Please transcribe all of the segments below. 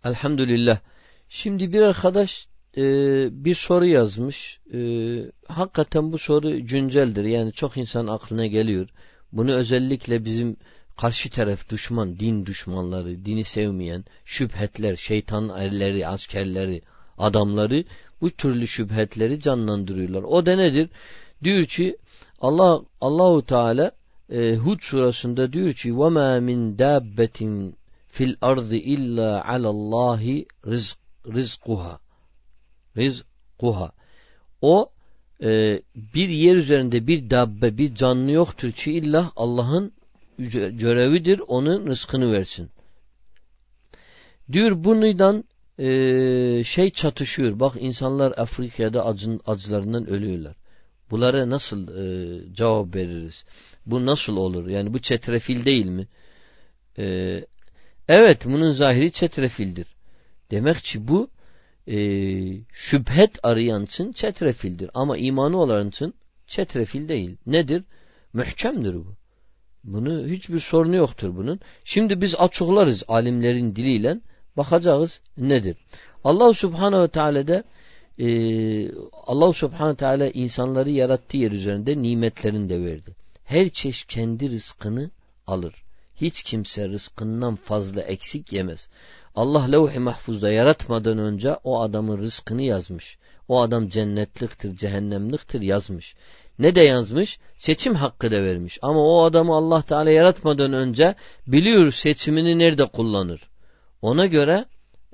Elhamdülillah. Şimdi bir arkadaş bir soru yazmış. Hakikaten bu soru günceldir. Yani çok insan aklına geliyor. Bunu özellikle bizim karşı taraf düşman, din düşmanları, dini sevmeyen, şüphetler, şeytan erleri, askerleri, adamları bu türlü şüphetleri canlandırıyorlar. O da nedir? Diyor ki Allahu Teala Hud surasında diyor ki: "Ve ma min dabbetin fil ardı illa alallahi rizquha." Rizquha. O bir yer üzerinde bir dabbe, bir canlı yoktur ki illa Allah'ın görevidir onun rızkını versin. Diyor bundan çatışıyor. Bak insanlar Afrika'da acılarından ölüyorlar. Bunlara nasıl cevap veririz? Bu nasıl olur? Yani bu çetrefil değil mi? Evet, bunun zahiri çetrefildir. Demek ki bu şüphet arayan için çetrefildir. Ama imanı olan için çetrefil değil. Nedir? Mühkemdir bu. Bunu hiçbir sorunu yoktur bunun. Şimdi biz açıklarız alimlerin diliyle, bakacağız nedir? Allah Subhanahu ve Teala'da Allah Subhanahu ve Teala insanları yarattığı yer üzerinde nimetlerini de verdi. Her çeşit kendi rızkını alır. Hiç kimse rızkından fazla eksik yemez. Allah levh-i mahfuzda yaratmadan önce o adamın rızkını yazmış. O adam cennetliktir, cehennemliktir yazmış. Ne de yazmış? Seçim hakkı da vermiş. Ama o adamı Allah Teala yaratmadan önce biliyor seçimini nerede kullanır. Ona göre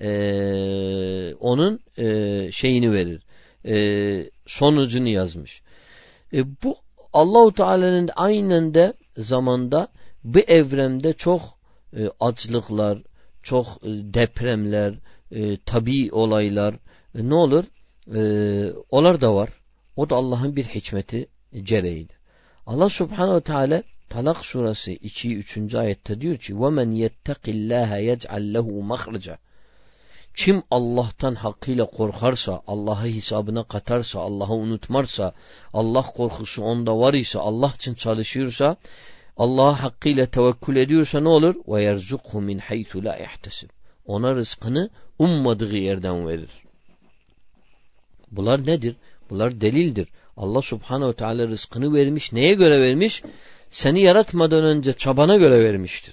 onun şeyini verir. Sonucunu yazmış. Bu Allahu Teala'nın aynen de zamanda bu evrende çok açlıklar, çok depremler, tabii olaylar ne olur? Onlar da var. O da Allah'ın bir hikmeti gereğidir. Allah Subhanahu Teala Talak suresi 2-3. ayette diyor ki: "وَمَنْ يَتَّقِ اللّٰهَ يَجْعَلْ لَهُ مَخْرَجًا." Kim Allah'tan hakkıyla korkarsa, Allah'ı hesabına katarsa, Allah'ı unutmarsa, Allah korkusu onda var ise, Allah için çalışıyorsa, Allah'a hakkıyla tevekkül ediyorsa ne olur? وَيَرْزُقْهُ مِنْ حَيْثُ لَا يَحْتَسِبْ. Ona rızkını ummadığı yerden verir. Bunlar nedir? Bunlar delildir. Allah Subhanahu Teala rızkını vermiş. Neye göre vermiş? Seni yaratmadan önce çabana göre vermiştir.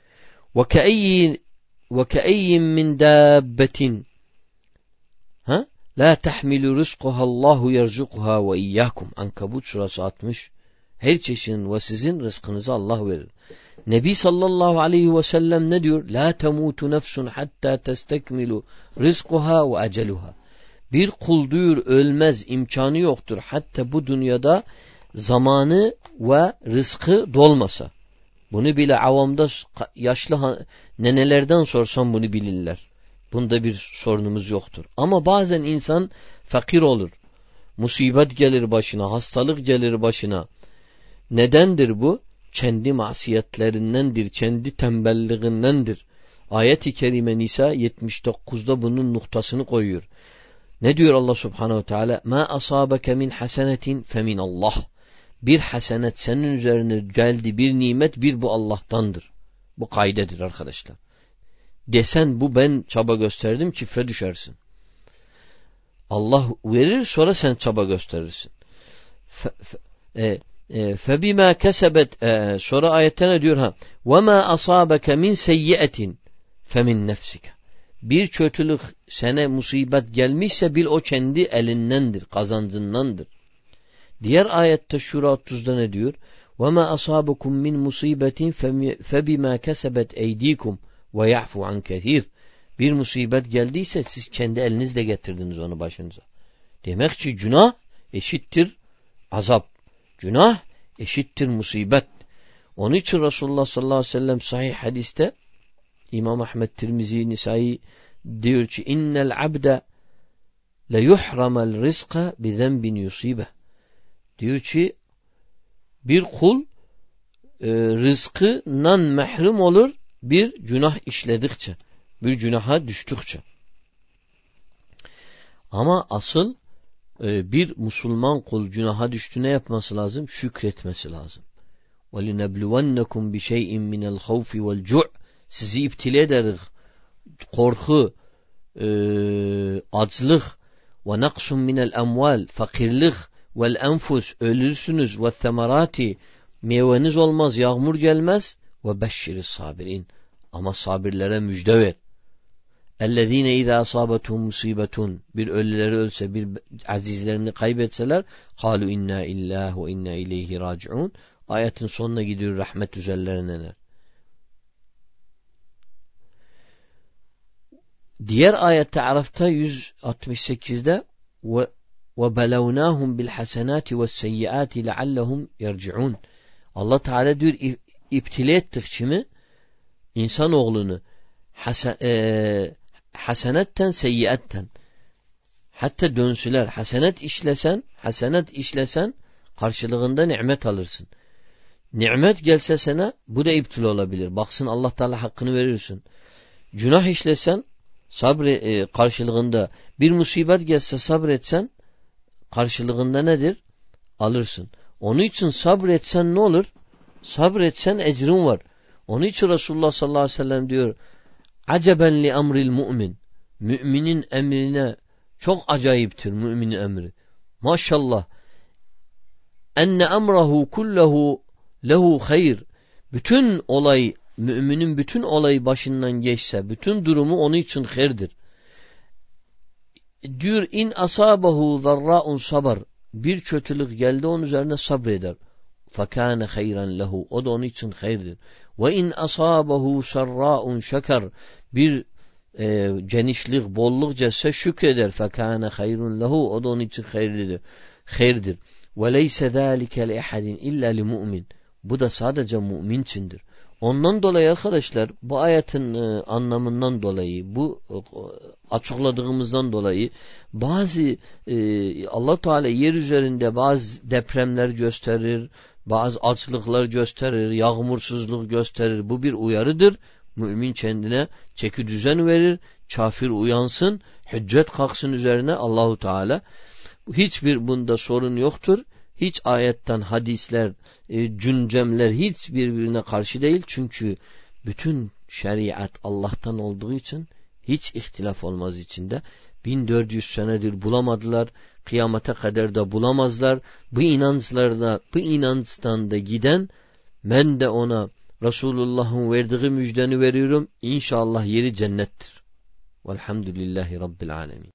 وَكَأَيِّن مِّنْ دَابَّةٍ لَا تَحْمِلُ رِزْقُهَا اللّٰهُ يَرْزُقُهَا وَاِيَّاكُمْ. Ankabut surası 60. Her çeşidin ve sizin rızkınızı Allah verir. Nebi sallallahu aleyhi ve sellem ne diyor? لَا تَمُوتُ نَفْسٌ حَتَّى تَسْتَكْمِلُ رِزْقُهَا وَاَجَلُهَا. Bir kul diyor ölmez, imkanı yoktur. Hatta bu dünyada zamanı ve rızkı dolmasa. Bunu bile avamda yaşlı nenelerden sorsam bunu bilirler. Bunda bir sorunumuz yoktur. Ama bazen insan fakir olur. Musibet gelir başına, hastalık gelir başına. Nedendir bu? Kendi masiyetlerindendir, kendi tembelliğindendir. Ayet-i Kerime Nisa 79'da bunun noktasını koyuyor. Ne diyor Allah Subhanahu Teala? "Ma asabeke min hasenetin femin Allah." Bir hasenet senin üzerine geldi, bir nimet, bir bu Allah'tandır. Bu kaydedir arkadaşlar. Desen bu ben çaba gösterdim, çifre düşersin. Allah verir, sonra sen çaba gösterirsin. Febima kesebet, sonra ayette ne diyor? "Ve ma asabeke min seyyiatin femin nefsike." Bir kötülük sana musibet gelmişse bil o kendi elindendir, kazancındandır. Diğer ayette Şura 30'da ne diyor? وَمَا أَصَابَكُمْ مِنْ مُصِيبَةٍ فَبِمَا كَسَبَتْ اَيْد۪يكُمْ وَيَعْفُ عَنْ كَثِيرٍ. Bir musibet geldiyse siz kendi elinizle getirdiniz onu başınıza. Demek ki günah eşittir azap. Günah eşittir musibet. Onun için Resulullah sallallahu aleyhi ve sellem sahih hadiste İmam Ahmed Tirmizi Nisai diyor ki: "İnnel abde le yuhramel rizqa bi zenbin yusibe." Diyor ki bir kul rızkından mahrum olur bir günah işledikçe, bir günaha düştükçe. Ama asıl bir Müslüman kul günaha düştü ne yapması lazım? Şükretmesi lazım. وَلِنَبْلُوَنَّكُمْ بِشَيْءٍ مِنَ الْخَوْفِ وَالْجُعْ. Sizi iptile ederiz korku, açlık ve naksun minel emval, fakirlik vel enfus, ölürsünüz ve semerati, meyveniz olmaz, yağmur gelmez ve beşşiriz sabirin, ama sabirlere müjde ver. اَلَّذ۪ينَ اِذَا أَصَابَتُهُمْ مُصِيبَةٌ, bir ölüleri ölse, bir azizlerini kaybetseler, قَالُوا اِنَّا اِلَّهُ وَاِنَّا اِلَيْهِ رَاجِعُونَ. Ayetin sonuna gidiyor, rahmet üzerlerine. Diğer ayette Araf'ta 168'de وَبَلَوْنَاهُمْ بِالْحَسَنَاتِ وَالسَّيِّئَاتِ لَعَلَّهُمْ يَرْجِعُونَ. Allah Teala diyor, iptile ettik kimi? İnsanoğlunu hasenetten seyyiatten, hatta dönsüler. Hasenet işlesen karşılığında nimet alırsın. Nimet gelse sana, bu da iptil olabilir. Baksın Allah Teala hakkını verirsin. Günah işlesen karşılığında, bir musibet gelse sabretsen karşılığında nedir? Alırsın. Onun için sabretsen ne olur? Sabretsen ecrin var. Onun için Resulullah sallallahu aleyhi ve sellem diyor, aceben li emril mu'min. Müminin emrine çok acayiptir müminin emri. Maşallah. Enne emrahu kullahu lehu hayr. Bütün olay, müminin bütün olayı başından geçse, bütün durumu onun için hayırdır. Diyor, in asabahu zarra'un sabar. Bir kötülük geldi, onun üzerine sabreder. Fakâne hayran lehu. O da onun için hayırdır. Ve in asabahu sarra'un şeker. Bir genişlik, bolluk gelse şükreder. Fakâne hayrun lehu. O da onun için hayırdır. Ve leyse zâlike li ehadin illa li mu'min. Bu da sadece mümin içindir. Ondan dolayı arkadaşlar, bu ayetin anlamından dolayı, bu açıkladığımızdan dolayı bazı Allah Teala yer üzerinde bazı depremler gösterir, bazı açlıklar gösterir, yağmursuzluk gösterir. Bu bir uyarıdır. Mümin kendine çeki düzen verir, kafir uyansın, hüccet kalksın üzerine Allahu Teala. Hiçbir bunda sorun yoktur. Hiç ayetten hadisler, güncemler hiç birbirine karşı değil. Çünkü bütün şeriat Allah'tan olduğu için hiç ihtilaf olmaz içinde. 1400 senedir bulamadılar. Kıyamete kadar da bulamazlar. Bu inançtan da giden, ben de ona Resulullah'ın verdiği müjdeni veriyorum. İnşallah yeri cennettir. Velhamdülillahi Rabbil alemin.